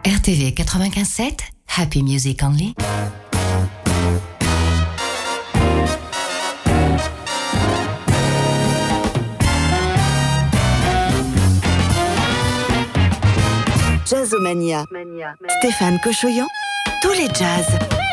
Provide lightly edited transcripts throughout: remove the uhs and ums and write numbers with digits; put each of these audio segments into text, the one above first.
RTV 95.7, Happy Music Only. Jazzomania. Stéphane Cochoyan, tous les jazz.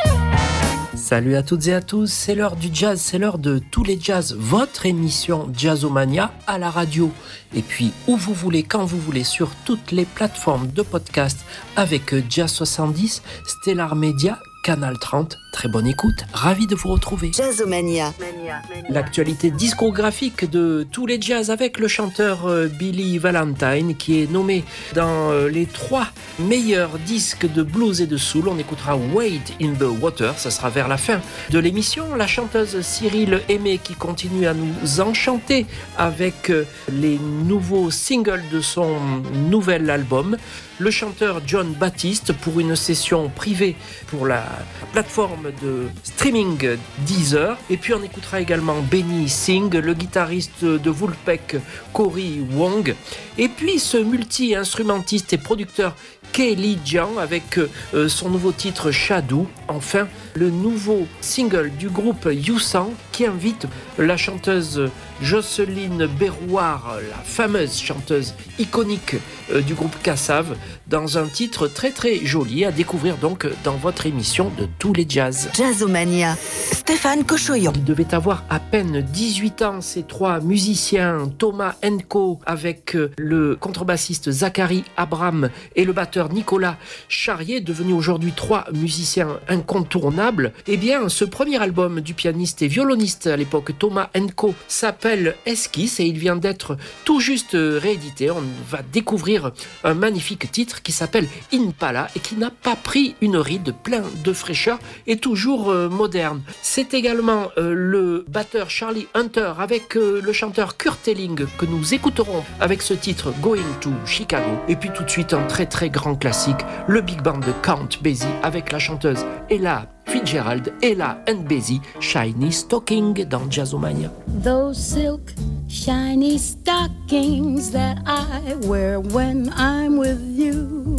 Salut à toutes et à tous, c'est l'heure du jazz, c'est l'heure de tous les jazz, votre émission Jazzomania à la radio. Et puis où vous voulez, quand vous voulez, sur toutes les plateformes de podcast avec Jazz 70, Stellar Media, Canal 30. Très bonne écoute, ravi de vous retrouver. Jazzomania. L'actualité discographique de tous les jazz avec le chanteur Billy Valentine qui est nommé dans les 3 meilleurs disques de blues et de soul. On écoutera Wade in the Water, ça sera vers la fin de l'émission. La chanteuse Cyril Aimé qui continue à nous enchanter avec les nouveaux singles de son nouvel album. Le chanteur John Baptiste pour une session privée pour la plateforme de streaming Deezer. Et puis on écoutera également Benny Singh, le guitariste de Vulpec Cory Wong. Et puis ce multi-instrumentiste et producteur Kelly Jiang avec son nouveau titre Shadow. Enfin, le nouveau single du groupe Yousang qui invite la chanteuse Jocelyne Berroir, la fameuse chanteuse iconique du groupe Kassav, dans un titre très très joli à découvrir donc dans votre émission de tous les jazz. Jazzomania. Stéphane Cochoyan. Il devait avoir à peine 18 ans, ces 3 musiciens, Thomas Enko avec le contrebassiste Zachary Abram et le batteur Nicolas Charrier, devenus aujourd'hui 3 musiciens incontournables. Eh bien, ce premier album du pianiste et violoniste à l'époque Thomas Enko s'appelle Esquisse et il vient d'être tout juste réédité. On va découvrir un magnifique titre qui s'appelle Impala et qui n'a pas pris une ride, plein de fraîcheur et toujours moderne. C'est également le batteur Charlie Hunter avec le chanteur Kurt Elling que nous écouterons avec ce titre Going to Chicago. Et puis tout de suite un très très grand classique, le big band de Count Basie avec la chanteuse Ella Fitzgerald, Ella and Basie, Shiny Stocking dans Jazzomania. Those silk shiny stockings that I wear when I'm with you,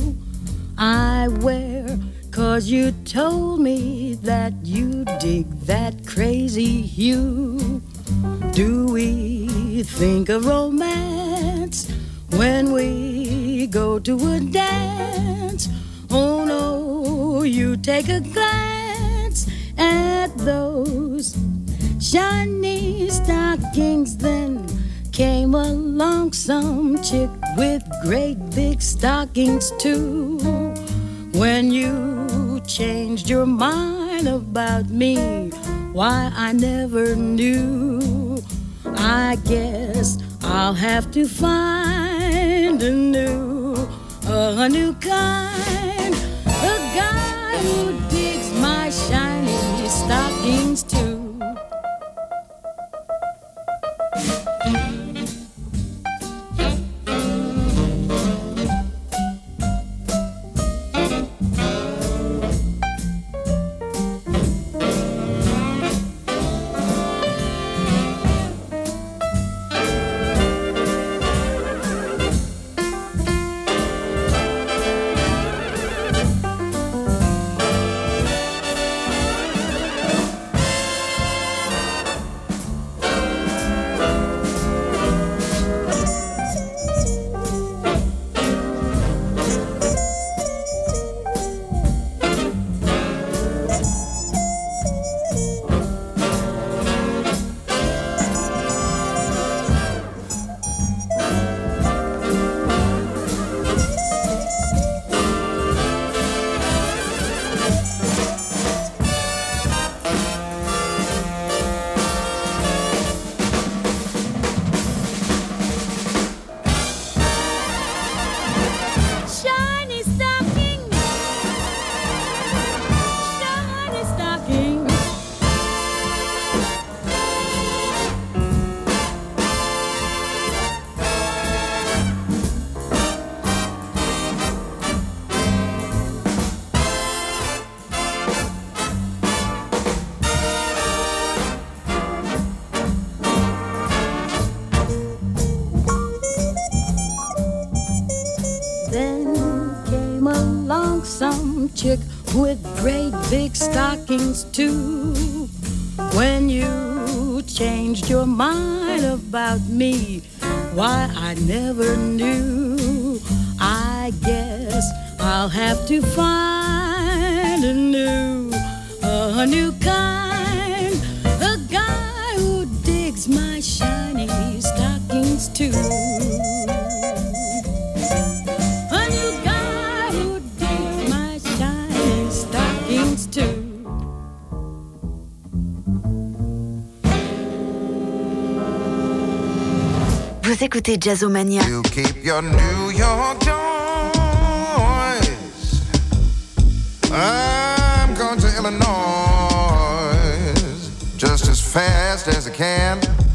I wear 'cause you told me that you dig that crazy hue. Do we think of romance when we go to a dance? Oh no, you take a glance at those shiny stockings. Then came along some chick with great big stockings too. When you changed your mind about me, why I never knew. I guess I'll have to find a new kind, a guy who digs my shiny stockings too. came along some chick with great big stockings too. When you changed your mind about me, why I never knew. I guess I'll have to find a new kind, a guy who digs my shiny stockings too. A new guy who digs my shiny stockings too. Vous écoutez Jazzomania. You keep your New York joys. I'm going to Illinois just as fast as I can.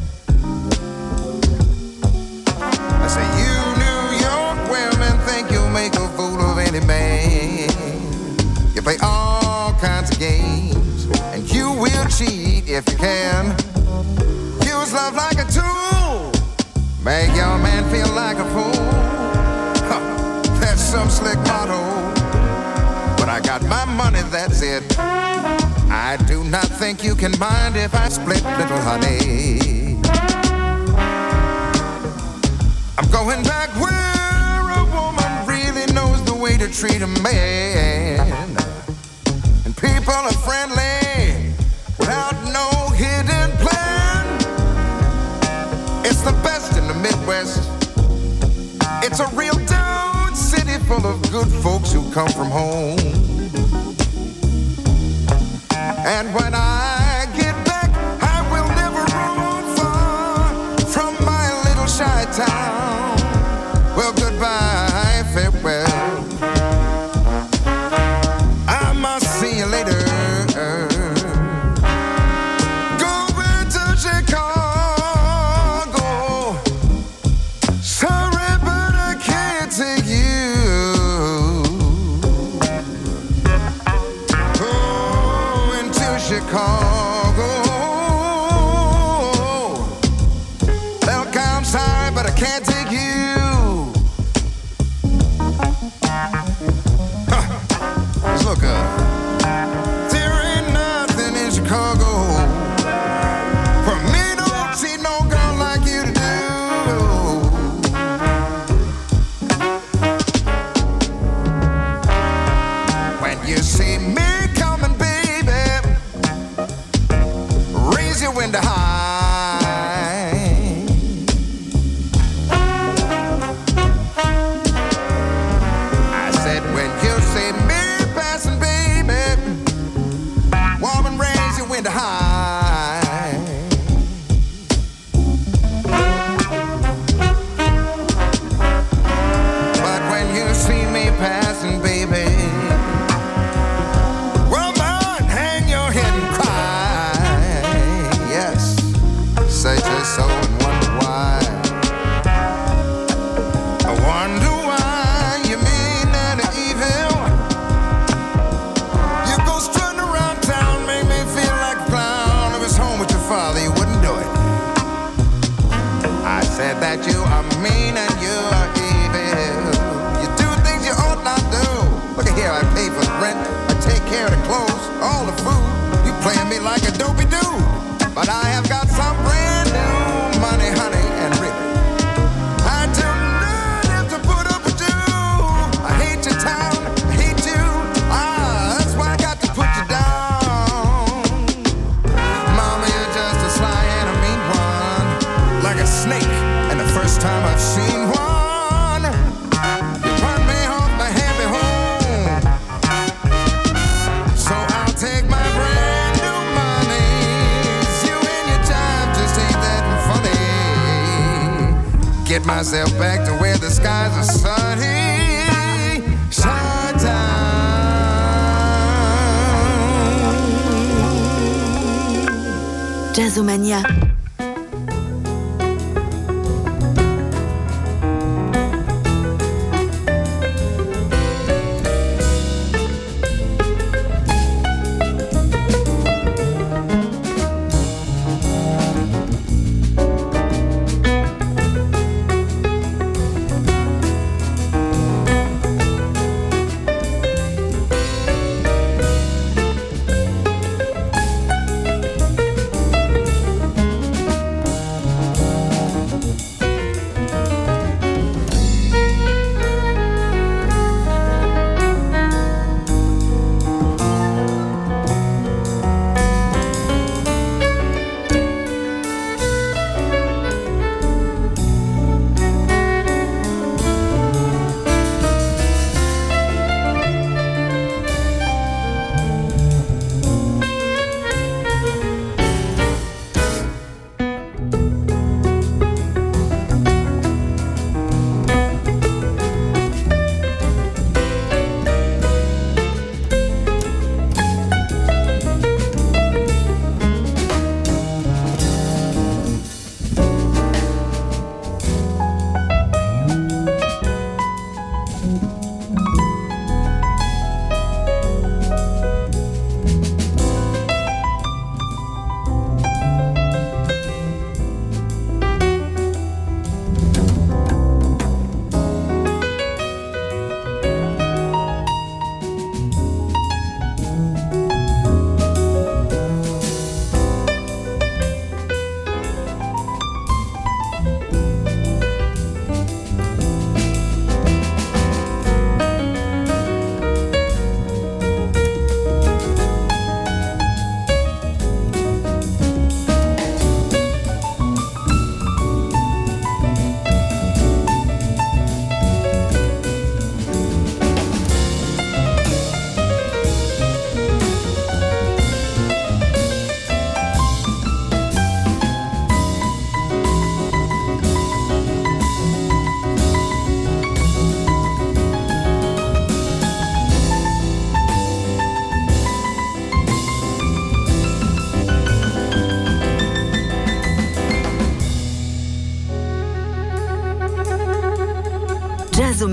I say you New York women think you'll make a fool of any man. You play all kinds of games and you will cheat if you can. Use love like a tool, make your man feel like a fool. Huh, that's some slick motto. But I got my money, that's it. I do not think you can mind if I split, little honey. I'm going back where a woman really knows the way to treat a man. And people are friendly without no hidden plan. It's the best in the Midwest. It's a real dude city full of good folks who come from home. And when I get back, I will never roam far from my little shy town. Well, goodbye, farewell. I must see you later. Going to Chicago. Sorry, but I can't take you. Going to Chicago. Look, I'm sorry, but I can't take you. Let's look up. There ain't nothing in Chicago for me to see no girl like you to do. When you see me coming, baby, raise your window high. I said when you see me passing, baby, woman, raise your window high. But when you see me passing, baby, woman, hang your head and cry. Yes, search your soul and wonder why. I wonder why you mean and evil. You go strutting around town, make me feel like a clown. If it's home with your father, you wouldn't do it. I said that you are mean and you are evil. You do things you ought not do. Look at here, I pay for the rent, I take care of the clothes, all the food. You playing me like a dopey dude. But I have got some brand new money, honey, and really, I do not have to put up with you. I hate your town, I hate you. That's why I got to put you down. Mama, you're just a sly and a mean one, like a snake, and the first time I've seen one, you run me off my happy home. So I'll take my brand new money. You and your job just ain't that funny. Get myself back to where the skies are sunny. Sundown. Jazzomania.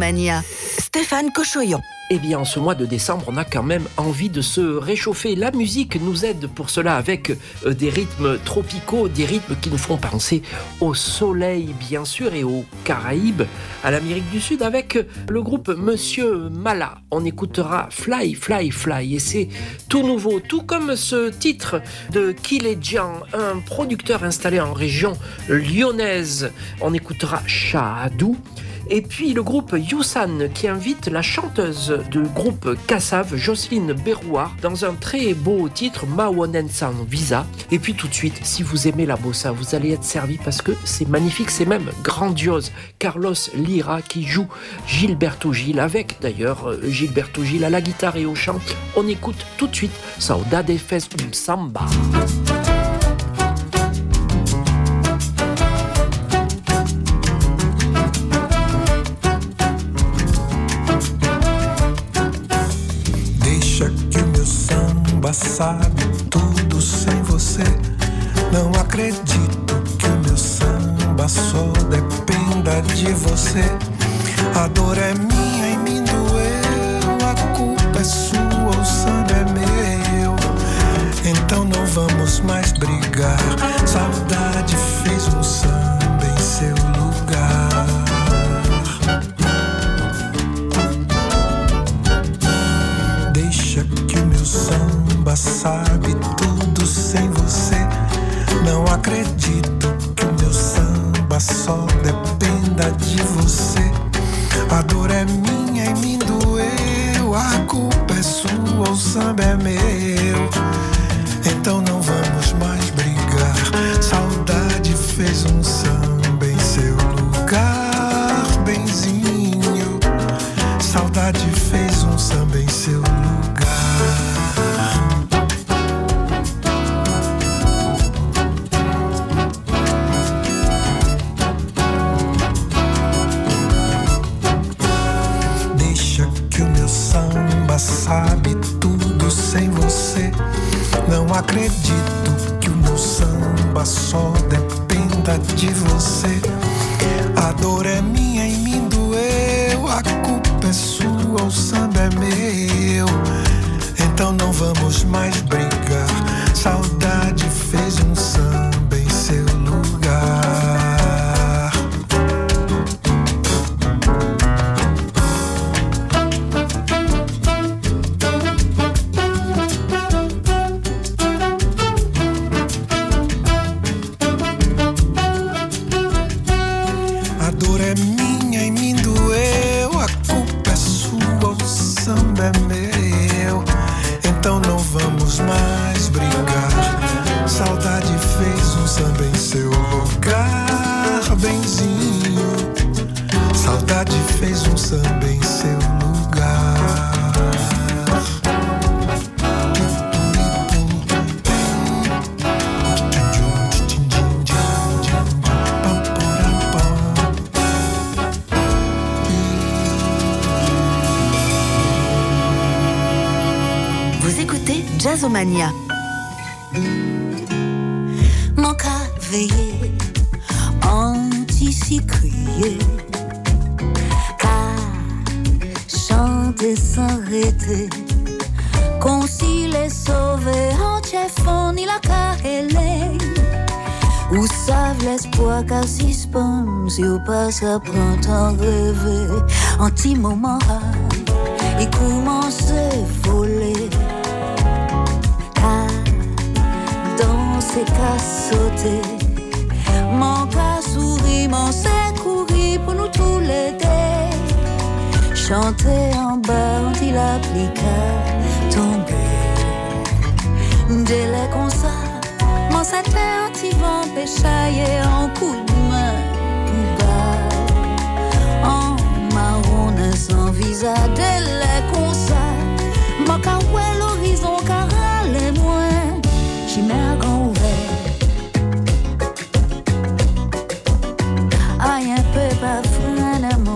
Jazzomania. Stéphane Cochoyon. Eh bien, en ce mois de décembre, on a quand même envie de se réchauffer. La musique nous aide pour cela avec des rythmes tropicaux, des rythmes qui nous font penser au soleil, bien sûr, et aux Caraïbes, à l'Amérique du Sud, avec le groupe Monsieur Mala. On écoutera Fly, Fly, Fly, et c'est tout nouveau, tout comme ce titre de Kiledjan, un producteur installé en région lyonnaise. On écoutera Shahadou. Et puis le groupe Youssan qui invite la chanteuse du groupe Kassav, Jocelyne Berrouard, dans un très beau titre, Mawonen Sans Visa. Et puis tout de suite, si vous aimez la bossa, vous allez être servi parce que c'est magnifique, c'est même grandiose. Carlos Lira qui joue Gilberto Gil, avec d'ailleurs Gilberto Gil à la guitare et au chant. On écoute tout de suite Saudade Fes Samba. Sabe tudo sem você. Não acredito que o meu samba só dependa de você. A dor é minha e me doeu. A culpa é sua, o samba é meu. Então não vamos mais brigar. Saudade fez um samba em seu lugar. Deixa que o meu samba sabe tudo sem você. Não acredito que o meu samba só dependa de você. A dor é minha e me doeu. A culpa é sua, o samba é meu. Então não vamos mais brigar. Saudade fez um samba em seu lugar, benzinho. Saudade fez um samba em seu lugar. Sabe tudo sem você. Não acredito que o meu samba só dependa de você. A dor é minha e me doeu. A culpa é sua, o samba é meu. Então não vamos mais brigar. Saudade fez um samba em seu lugar. Jazzomania. Mon cas veillé, anti-crier, car chanter sans arrêter, concilier, sauver, en ni la carrelée, ou savent l'espoir qu'à suspendre, si ou pas ça prend temps rêver, anti-moment, et commencer voler. C'est qu'à sauter, mon cas sourit, mon c'est courir pour nous tous les deux. Chanter en bas, on dit l'applique tomber. Délai comme ça, mon satin anti-vent péchaillé en coup de main. Bas, en marron sans visa, délai comme ça, mon cas ouais l'horizon, car les moins, j'y mets un grand ouvert. Rien peut pas freiner moi.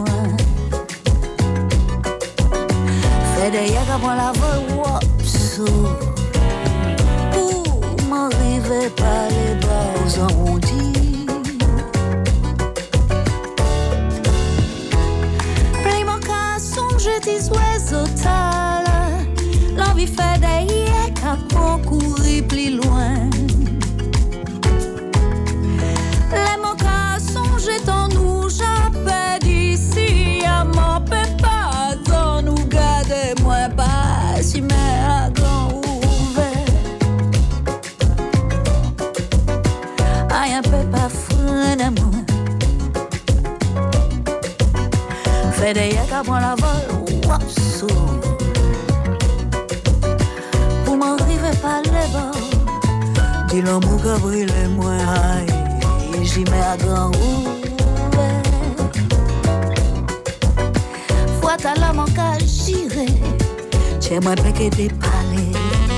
Fait des yeux qu'à prendre la vol, wop, pour m'arriver par les bras aux arrondis. Play mon petits oiseaux tâles. L'envie fait des qu'à concourir plus loin. Les mots qu'à songer en nous, j'appelle d'ici à mon pépin. Dans nous garder moins bas, si mais à grand ouvert. Aïe, un peu pas fou d'amour. Fait des yeux qu'à prendre la vol, wapsou. Pour m'arriver par les bords, dis l'amour qu'a brûlé moins aïe, j'y mets à grand ouvert. Fois ta l'homme en cas j'irai, tiens moi péqué des palais.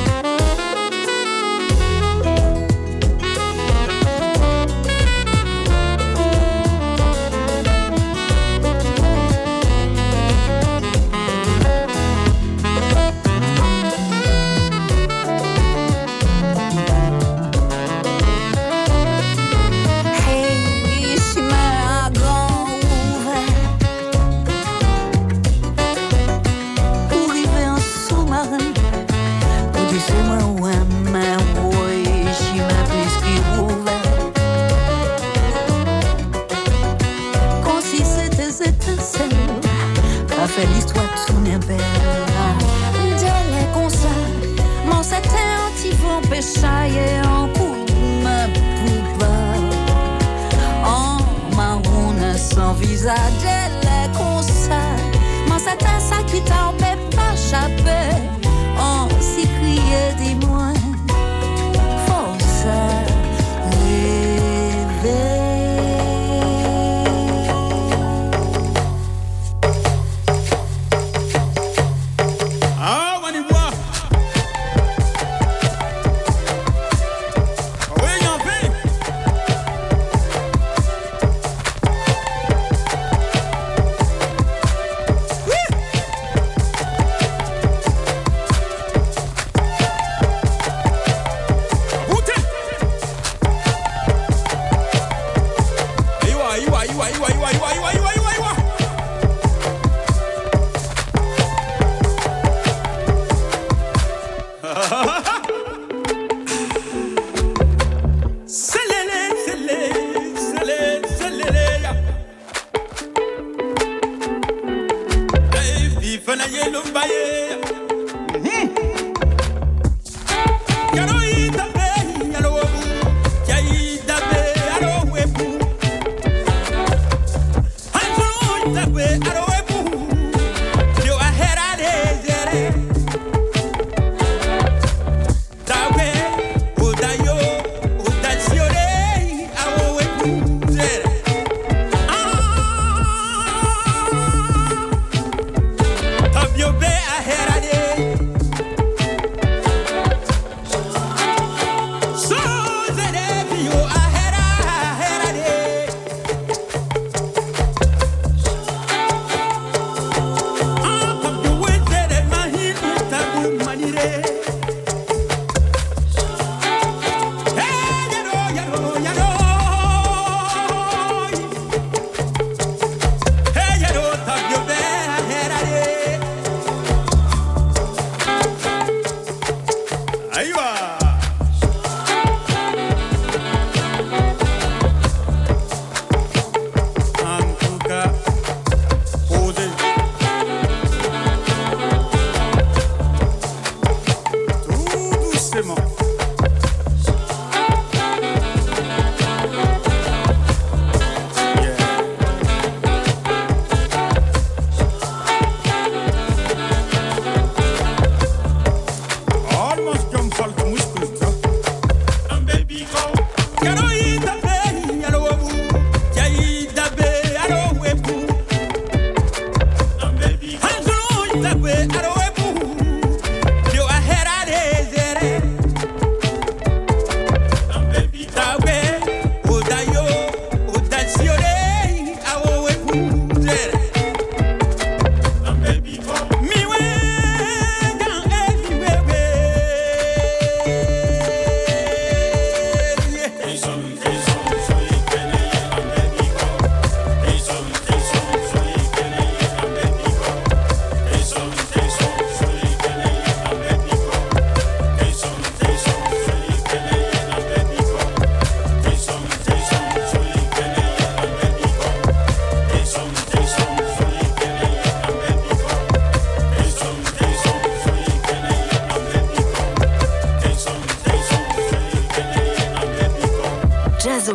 L'histoire tourne belle. Dès les concerts, mon satin anti-vent péchaille en coume poupa. En marron sans visage. Dès les concerts, mon satin ça qui t'en peut pas échapper. En s'y crier dis-moi, force rêver.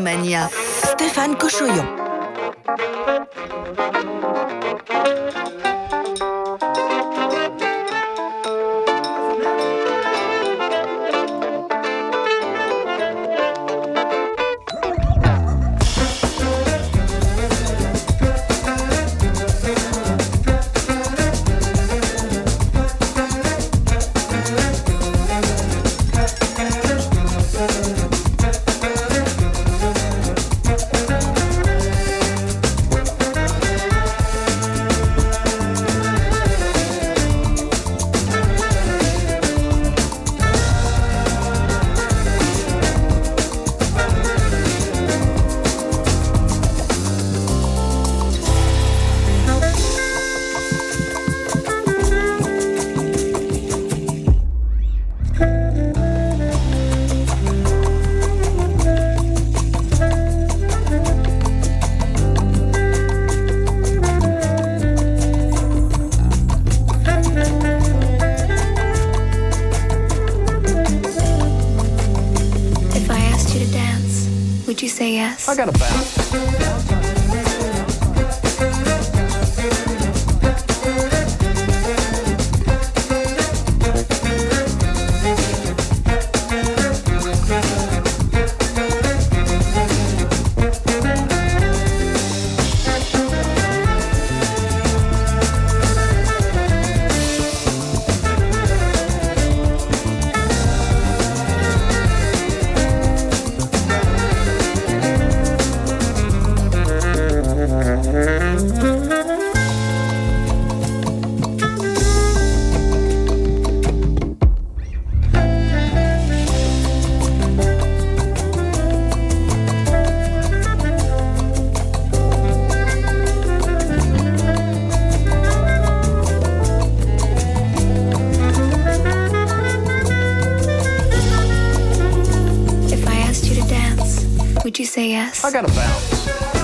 Jazzomania, Stéphane Cochoyon. I gotta bounce. Would you say yes? I gotta bounce.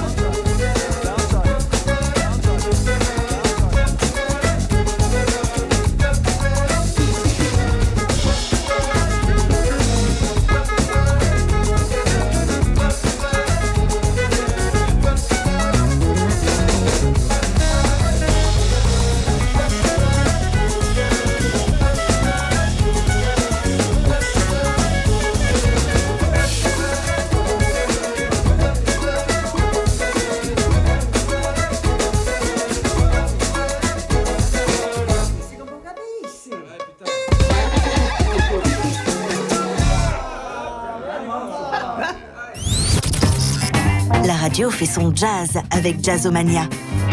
La radio fait son jazz avec Jazzomania.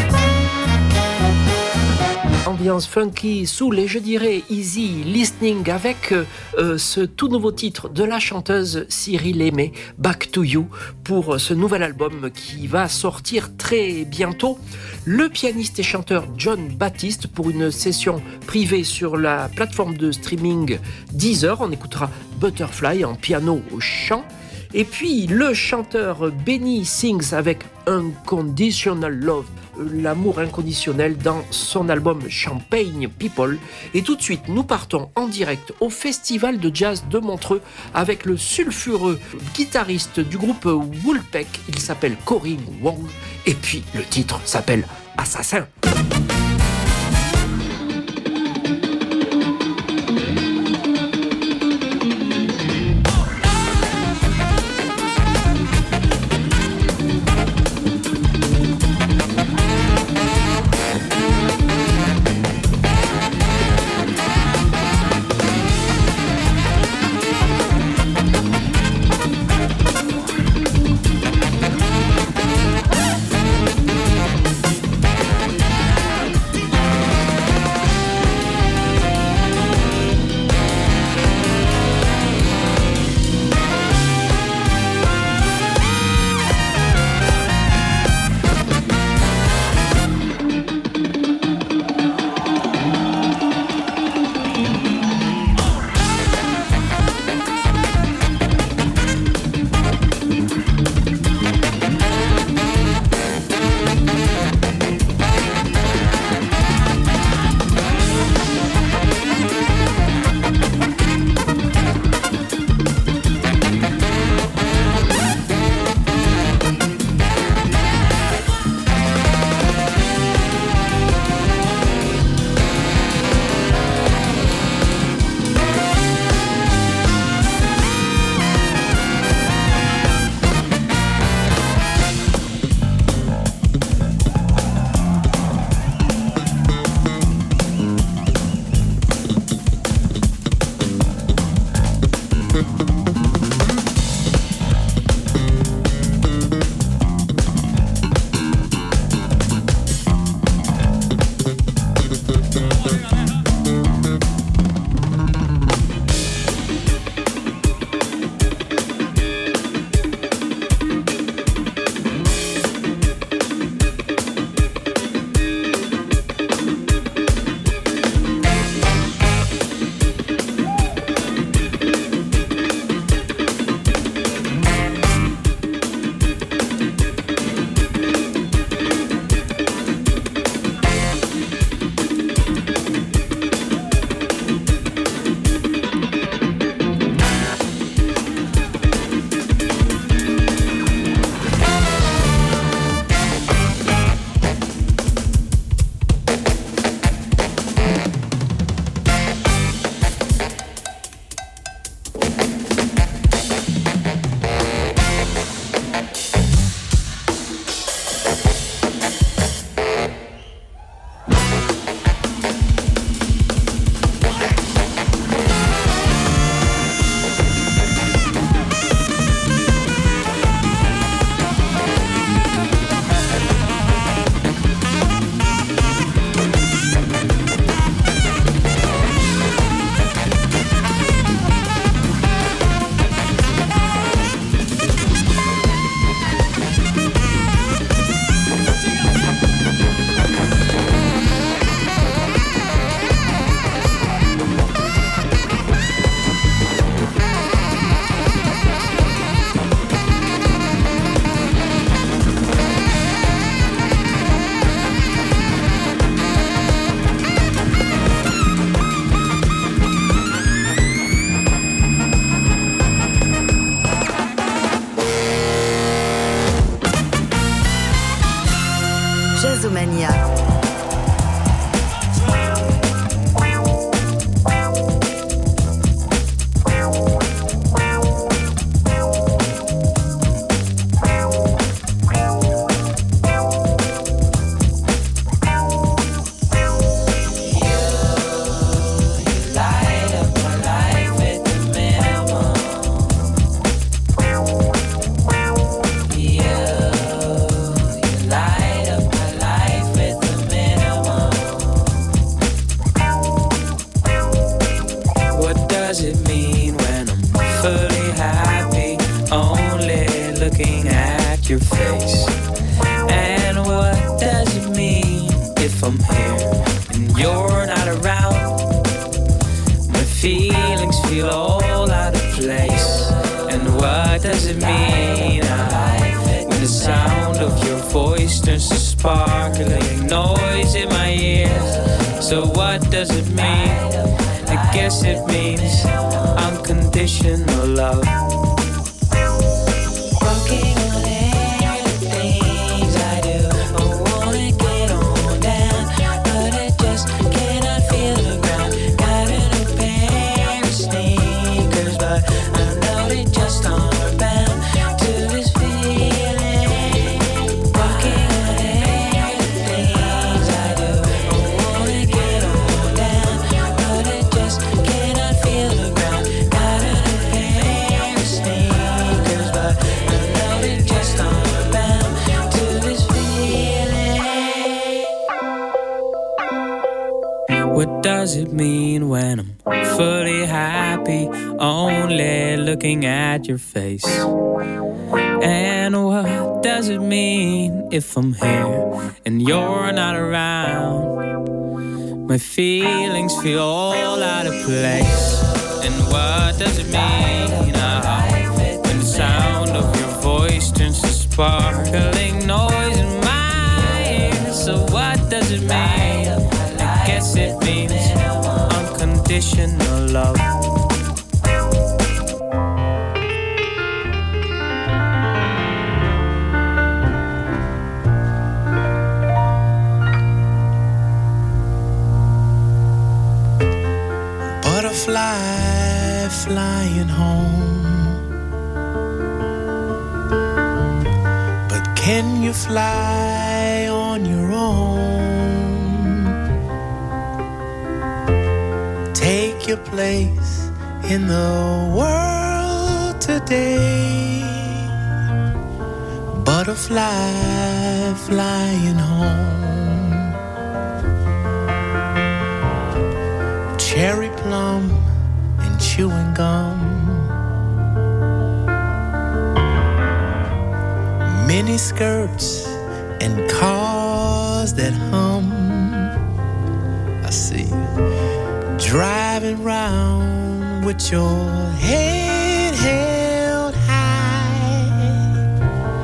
Ambiance funky, soul et je dirais easy listening avec ce tout nouveau titre de la chanteuse Cyril Aimé, Back to You, pour ce nouvel album qui va sortir très bientôt. Le pianiste et chanteur John Baptiste pour une session privée sur la plateforme de streaming Deezer. On écoutera Butterfly en piano au chant. Et puis le chanteur Benny Sings avec Unconditional Love, l'amour inconditionnel dans son album Champagne People. Et tout de suite, nous partons en direct au Festival de Jazz de Montreux avec le sulfureux guitariste du groupe Woolpeck. Il s'appelle Corinne Wong et puis le titre s'appelle Assassin. does it mean? When the sound of your voice turns to sparkling noise in my ears. So what does it mean? I guess it means unconditional love. What does it mean when I'm fully happy, only looking at your face? And what does it mean if I'm here and you're not around? My feelings feel all out of place. And what does it mean when the sound of your voice turns to sparkling noise in my ears? So what does it mean? I guess it means unconditional love. Butterfly flying home, but can you fly on your own? Take your place in the world today. Butterfly flying home. Cherry plum and chewing gum, mini skirts and cars that hum. I see you driving round with your head held high.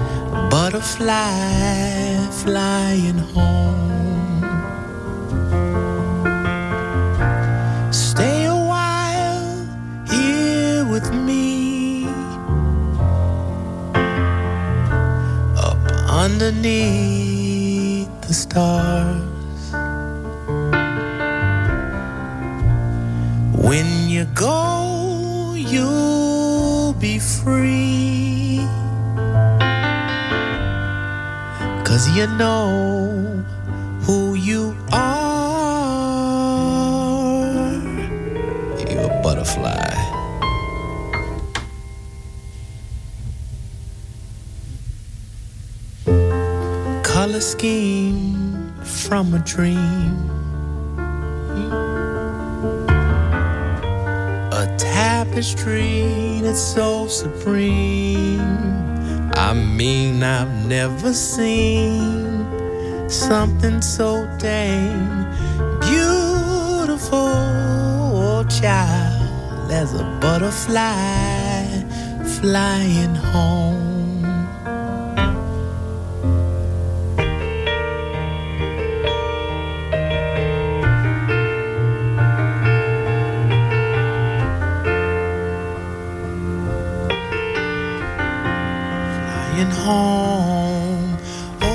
Butterfly flying home. Stay a while here with me, up underneath the stars. When you go, you'll be free, 'cause you know who you are. You're a butterfly. Color scheme from a dream, a tapestry that's so supreme. I mean, I've never seen something so dang beautiful, oh child, as a butterfly flying home. Home. Oh,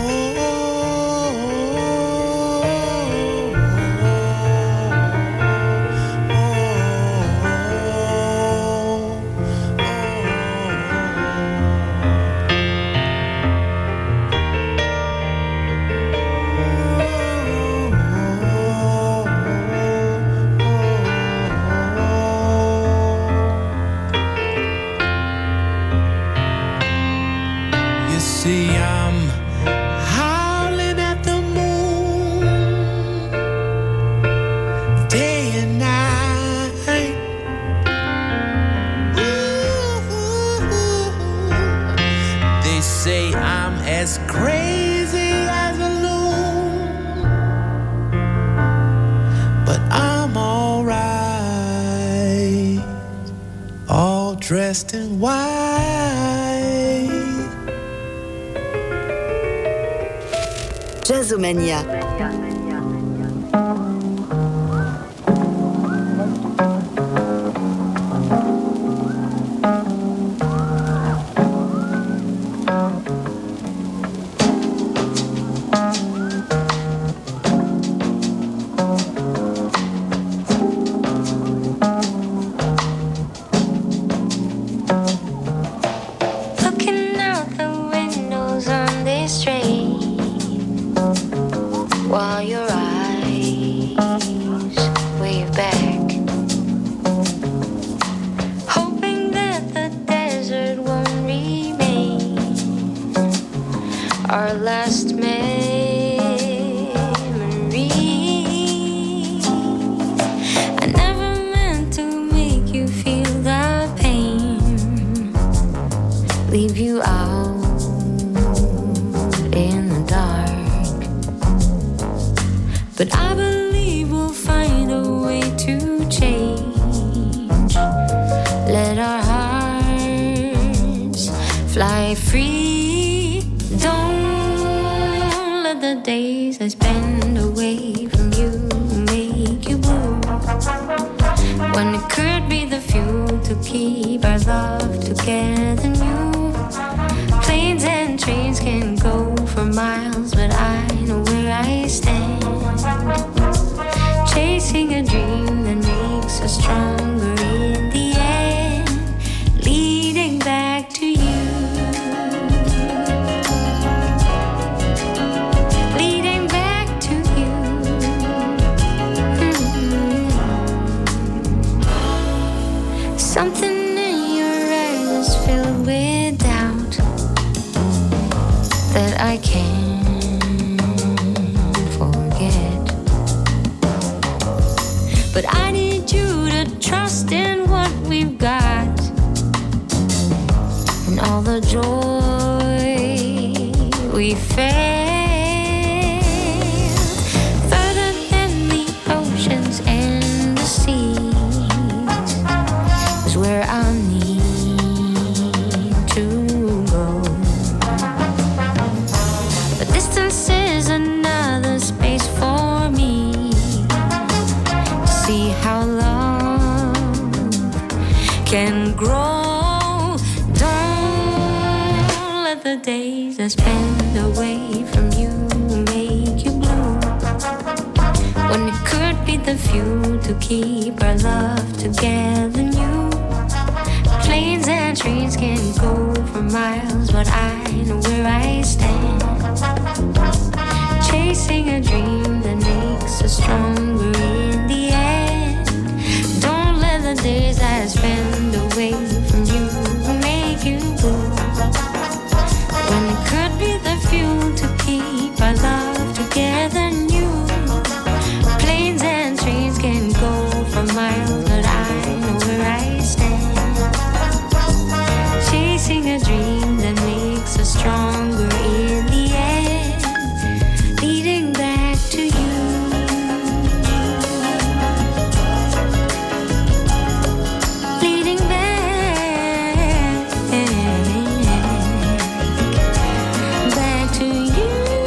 you see, I'm howling at the moon day and night. Ooh, they say I'm as crazy as a loon, but I'm all right, all dressed in white. Jazzomania. While your eyes wave back, hoping that the desert won't remain our last memory. I never meant to make you feel the pain, leave you out in the dark. But I believe we'll find a way to change. Let our hearts fly free. Don't let the days I spend away from you make you blue, when it could be the fuel to keep our love together new. Planes and trains can go for miles, but I know where I stand. Chasing a dream that makes us stronger in the end, leading back to you, leading back to you. Something in your eyes is filled with doubt that I can't forget. But I need you to trust in what we've got, and all the joy we felt. Further than the oceans and the seas is where I need to go. But distance is another space for me. See how love can grow. Don't let the days I spend away from you make you blue, when it could be the fuel to keep our love together new. Planes and trains can go for miles, but I know where I stand. Chasing a dream that makes us stronger in the end. Don't let the days I spend away from you make you blue, when it could be the fuel to keep our love together new. Planes and trains can go for miles, but I know where I stand. Chasing a dream that makes us stronger in the end, leading back to you. Leading back to you.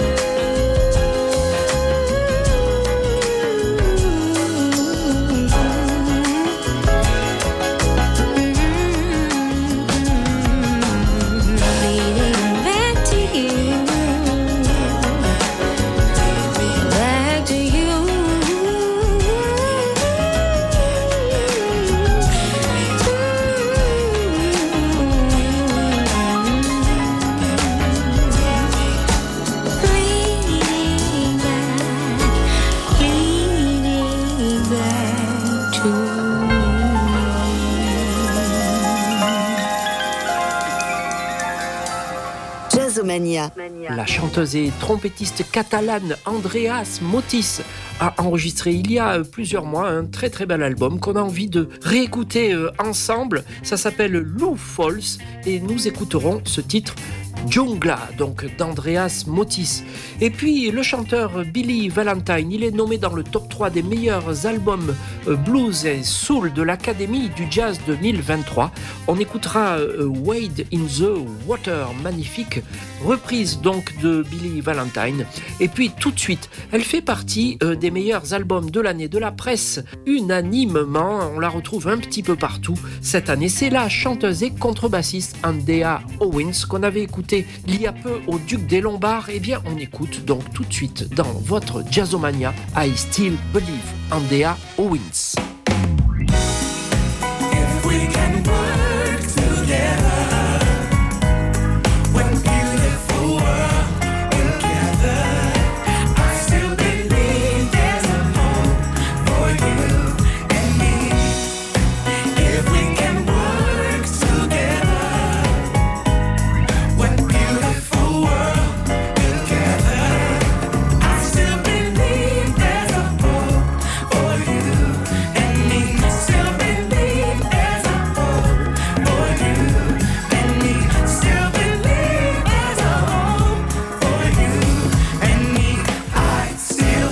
Jazzomania. La chanteuse et trompettiste catalane Andreas Motis a enregistré il y a plusieurs mois un très très bel album qu'on a envie de réécouter ensemble. Ça s'appelle Lou Falls et nous écouterons ce titre Jungla, donc d'Andreas Motis. Et puis le chanteur Billy Valentine, il est nommé dans le top 3 des meilleurs albums blues et soul de l'Académie du Jazz 2023. On écoutera Wade in the Water, magnifique reprise donc de Billy Valentine. Et puis tout de suite, elle fait partie des meilleurs albums de l'année de la presse unanimement. On la retrouve un petit peu partout cette année. C'est la chanteuse et contrebassiste Andrea Owens qu'on avait écoutée il y a peu au Duc des Lombards. Eh bien, on écoute donc tout de suite dans votre Jazzomania I Still Believe, Andrea Owens. If we can work together, when beautiful world together, I still believe there's a home for you and me. If we can work together, when beautiful world together, I still believe there's a home for you and me. Still believe there's a home for you and me. Still believe there's a home for you and me. I still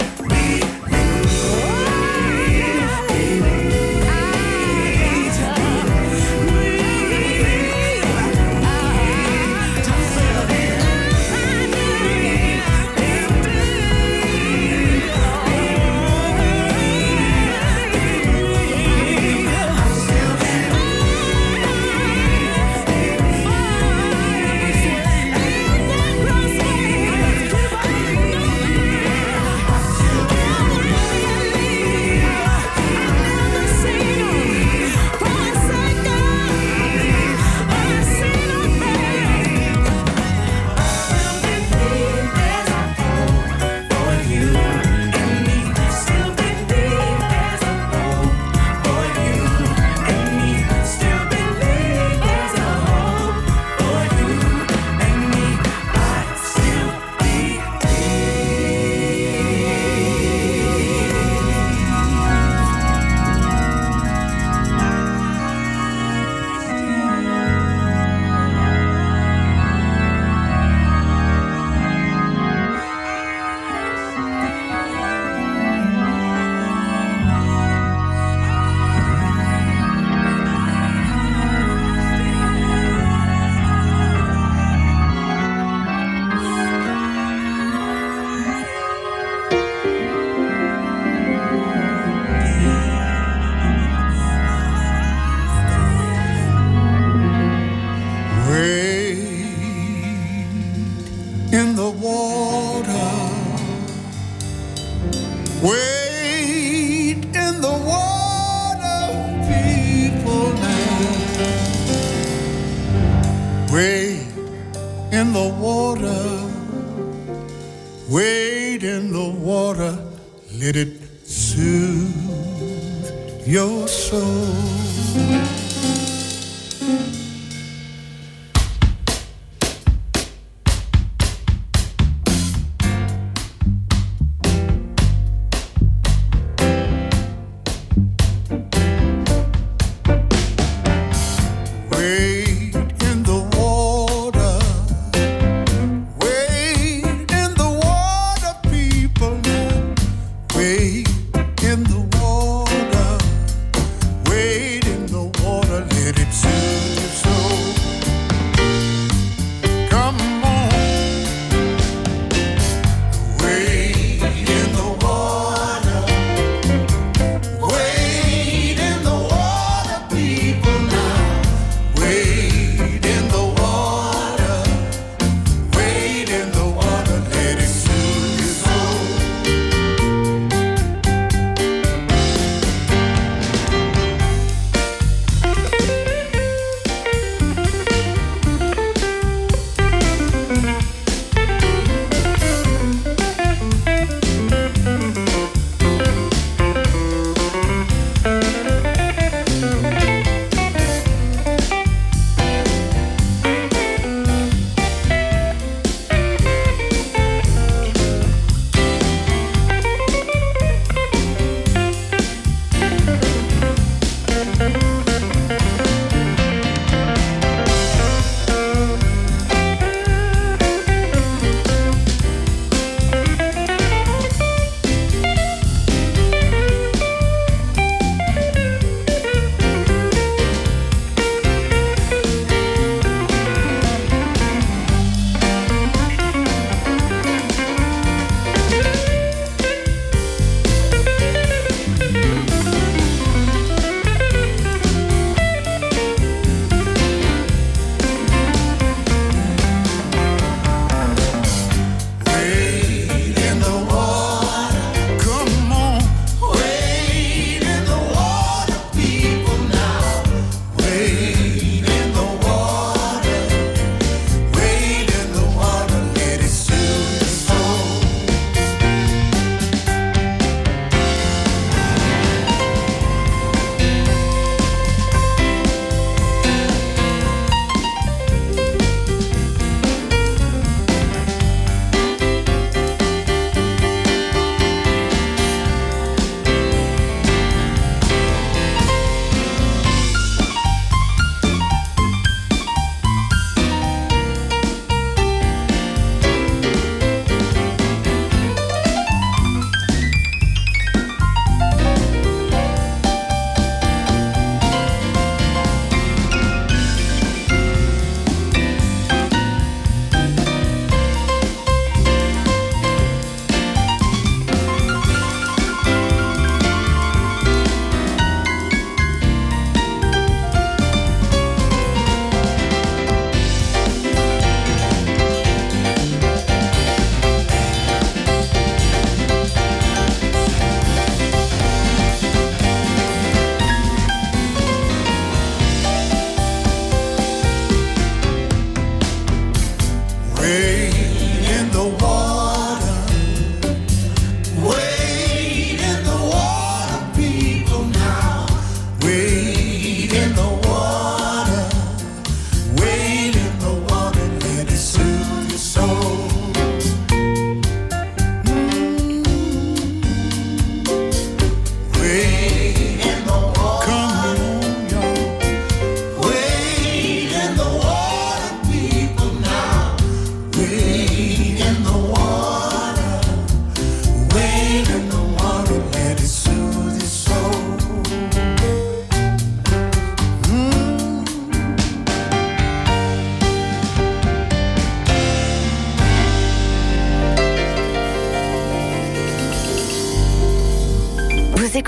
in the water, wade in the water, people now. Wade in the water, wade in the water, let it soothe your soul. Wade in the water,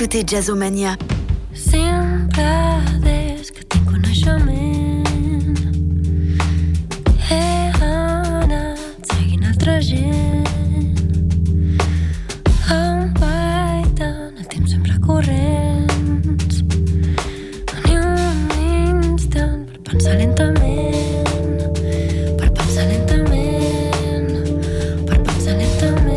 écoutez Jazzomania. Sempre des que tinc coneixement he anat seguint altra gent. Em vaig tant el temps sempre corrents. Ni un instant per pensar lentament, per pensar lentament, per pensar lentament.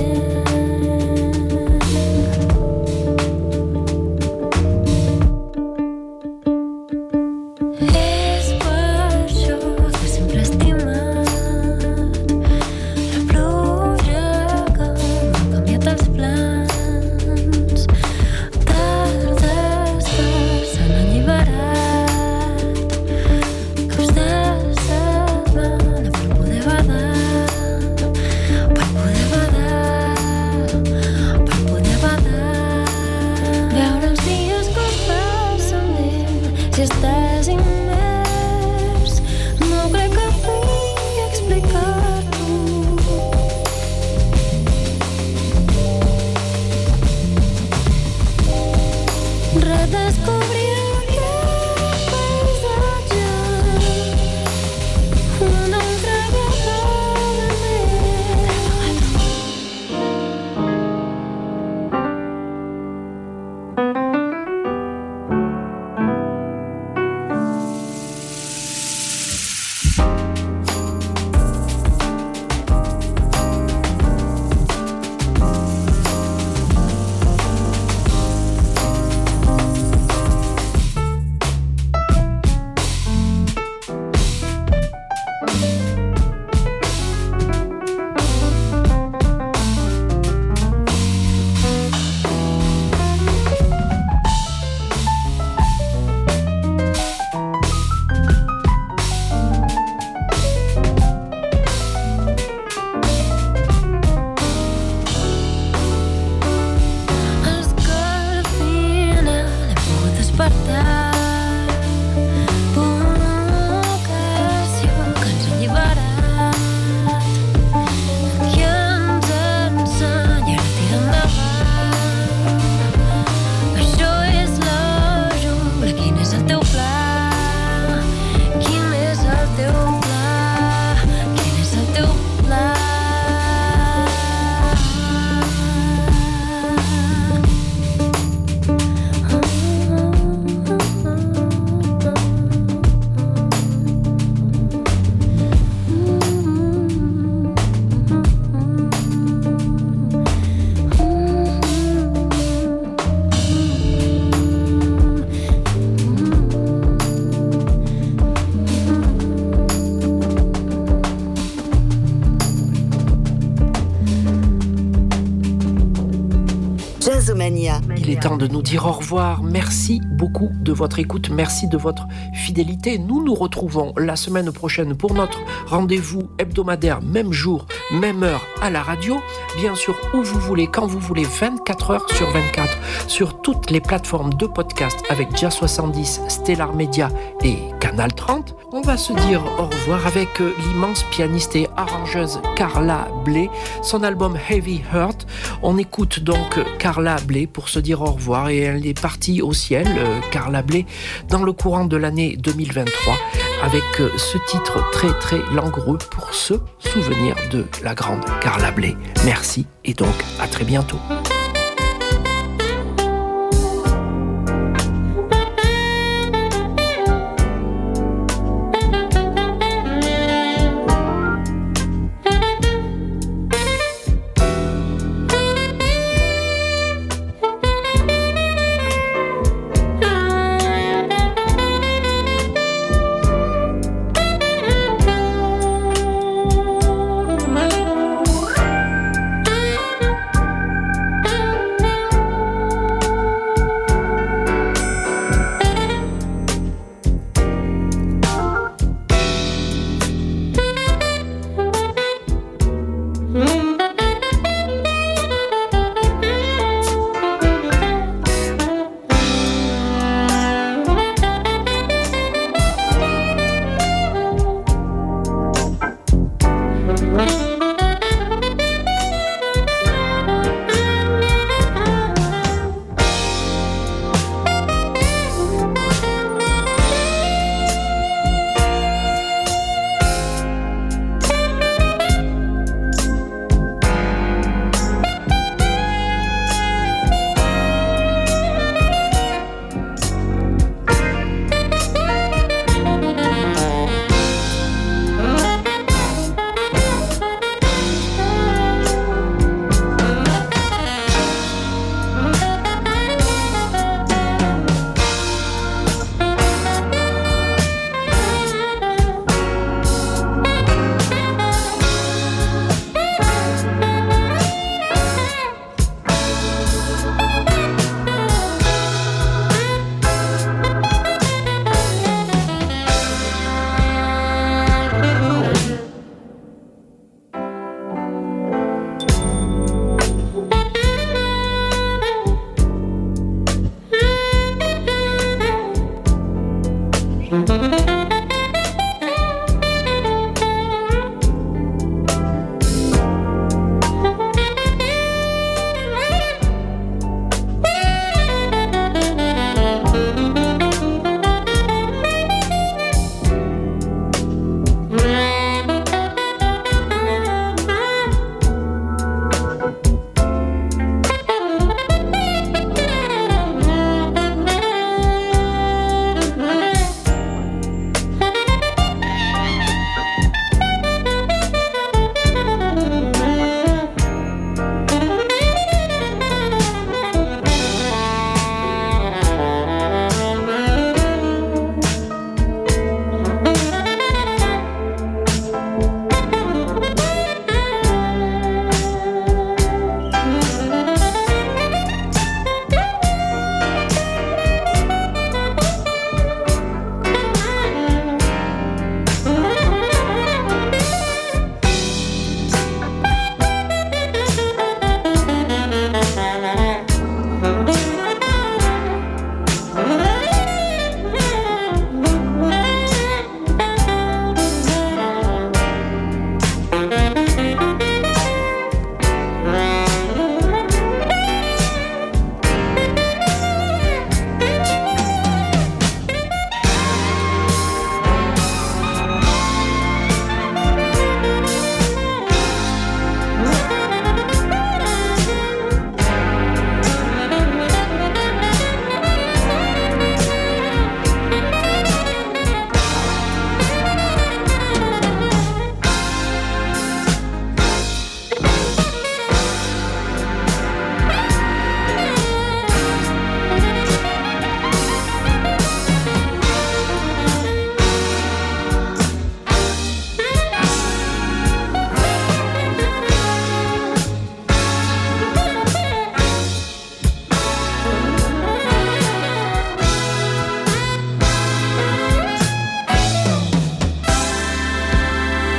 Il est temps de nous dire au revoir. Merci beaucoup de votre écoute, merci de votre fidélité. Nous nous retrouvons la semaine prochaine pour notre rendez-vous hebdomadaire, même jour, même heure à la radio. Bien sûr, où vous voulez, quand vous voulez, 24 heures sur 24, sur toutes les plateformes de podcast avec Jazz 70, Stellar Media et Canal 30. On va se dire au revoir avec l'immense pianiste et arrangeuse Carla Bley, son album Heavy Heart. On écoute donc Carla Bley pour se dire au revoir et elle est partie au ciel, Carla Bley, dans le courant de l'année 2023 avec ce titre très très langoureux pour se souvenir de la grande Carla Bley. Merci et donc à très bientôt. Thank you.